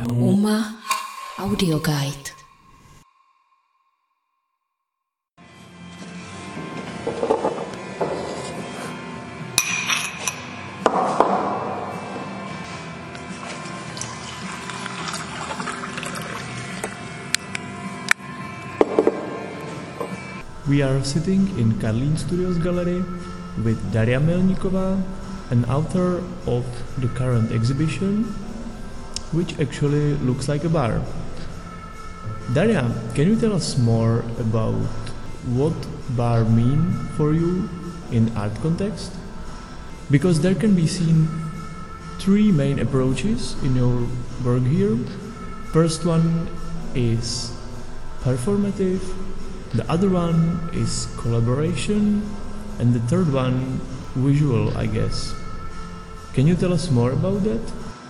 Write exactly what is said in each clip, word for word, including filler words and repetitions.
Uma Audio Guide. We are sitting in Karlín Studios Gallery with Daria Melníková, an author of the current exhibition, which actually looks like a bar. Daria, can you tell us more about what bar mean for you in art context? Because there can be seen three main approaches in your work here. First one is performative, the other one is collaboration, and the third one visual, I guess. Can you tell us more about that?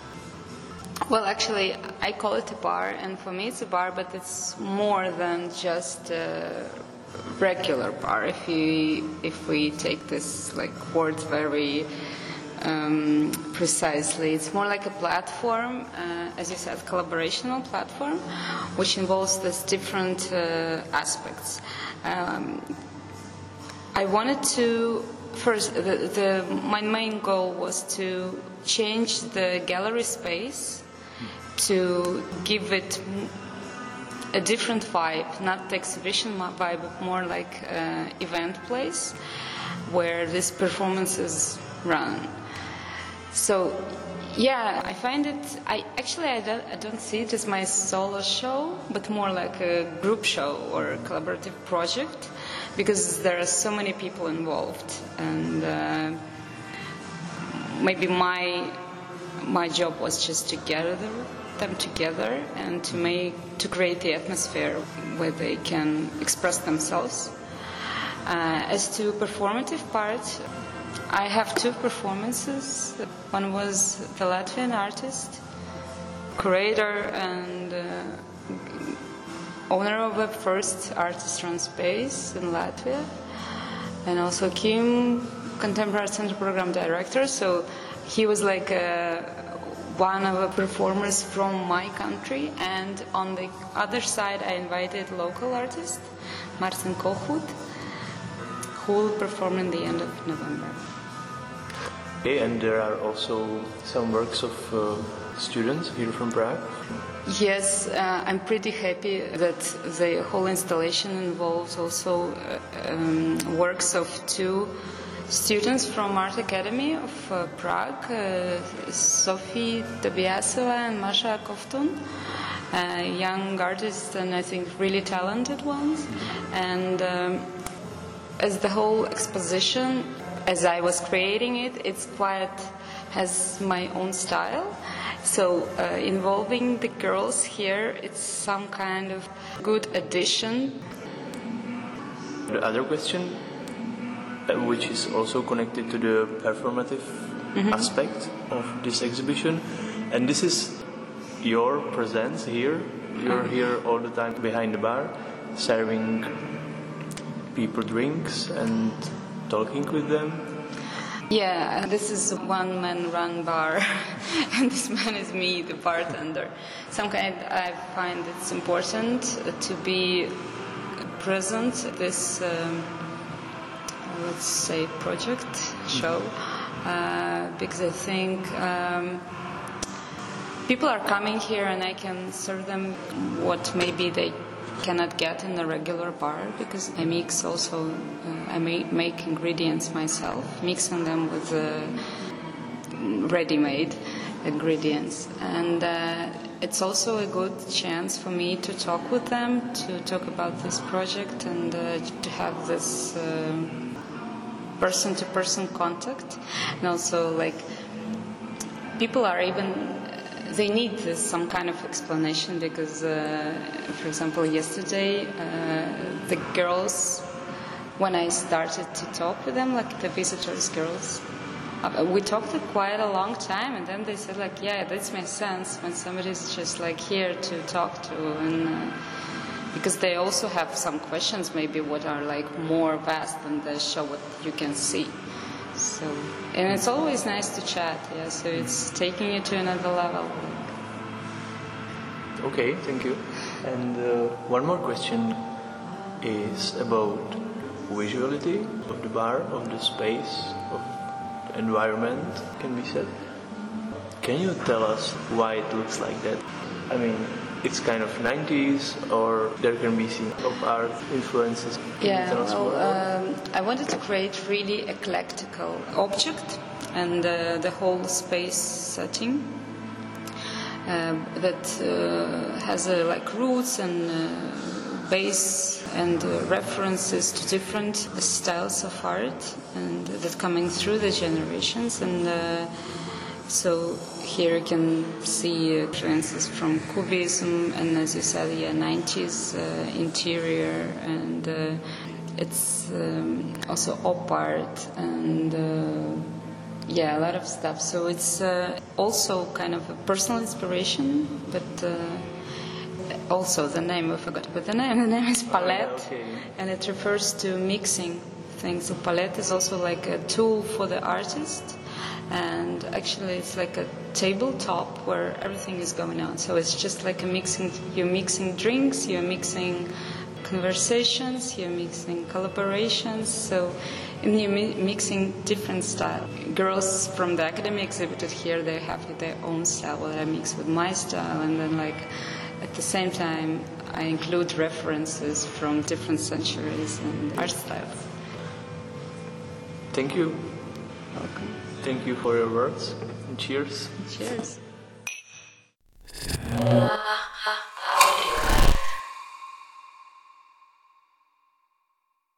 Well, actually, I call it a bar, and for me it's a bar, but it's more than just a regular bar. If we if we take this like word very um, precisely, it's more like a platform, uh, as you said, collaborational platform, which involves these different uh, aspects. Um, I wanted to first. The, the my main goal was to change the gallery space, to give it a different vibe, not the exhibition vibe, but more like an event place where these performances run. So, yeah, I find it, I actually I don't, I don't see it as my solo show, but more like a group show or a collaborative project, because there are so many people involved, and uh, maybe my my job was just to gather them together and to make to create the atmosphere where they can express themselves. Uh, as to performative part, I have two performances. One was the Latvian artist, curator and uh, owner of the first artist-run space in Latvia, and also Kim, Contemporary Center Program Director. So he was like a, one of the performers from my country, and on the other side I invited local artist Martin Kohut, who will perform in the end of November. Okay, and there are also some works of uh, students here from Prague. Yes, uh, I'm pretty happy that the whole installation involves also uh, um, works of two students from Art Academy of uh, Prague, uh, Sophie Tobiasova and Masha Kovtun, uh, young artists and I think really talented ones. And um, as the whole exposition, as I was creating it, it's quite has my own style. So uh, involving the girls here, it's some kind of good addition. The other question, uh, which is also connected to the performative mm-hmm. aspect of this exhibition, and this is your presence here. You're mm-hmm. here all the time behind the bar, serving people drinks and talking with them. Yeah, this is a one-man run bar, and this man is me, the bartender. Some kind, I find it's important to be present at this, um, let's say, project show, uh, because I think um, people are coming here, and I can serve them what maybe they cannot get in a regular bar, because I mix also, uh, I make, make ingredients myself, mixing them with uh, ready-made ingredients. And uh, it's also a good chance for me to talk with them, to talk about this project, and uh, to have this uh, person-to-person contact. And also, like, people are even they need this, some kind of explanation, because, uh, for example, yesterday, uh, the girls, when I started to talk with them, like the visitors girls, uh, we talked for quite a long time, and then they said, like, yeah, this makes sense when somebody's just like here to talk to, and uh, because they also have some questions, maybe what are like more vast than the show what you can see. So, and it's always nice to chat, yeah, so it's taking you to another level. Okay, thank you. And uh, one more question is about visuality of the bar, of the space, of the environment, can be said. Can you tell us why it looks like that? I mean, it's kind of nineties, or there can be seen of art influences. Can Yeah, you tell us well, more? um, I wanted to create really eclectical object and uh, the whole space setting uh, that uh, has uh, like roots and uh, base and uh, references to different styles of art and that coming through the generations. And uh, so here you can see influences from Cubism and, as you said, yeah, nineties uh, interior, and uh, it's um, also op art and uh, yeah, a lot of stuff. So it's uh, also kind of a personal inspiration, but uh, also the name, I forgot about the name. The name is palette, okay. And it refers to mixing things. So palette is also like a tool for the artist. And actually it's like a tabletop where everything is going on. So it's just like a mixing, you're mixing drinks, you're mixing conversations, you're mixing collaborations, so and you're mi- mixing different styles. Girls from the academy exhibited here, they have their own style, what I mix with my style, and then like at the same time I include references from different centuries and art styles. Thank you. Welcome. Thank you for your words, and cheers. Cheers. Ah.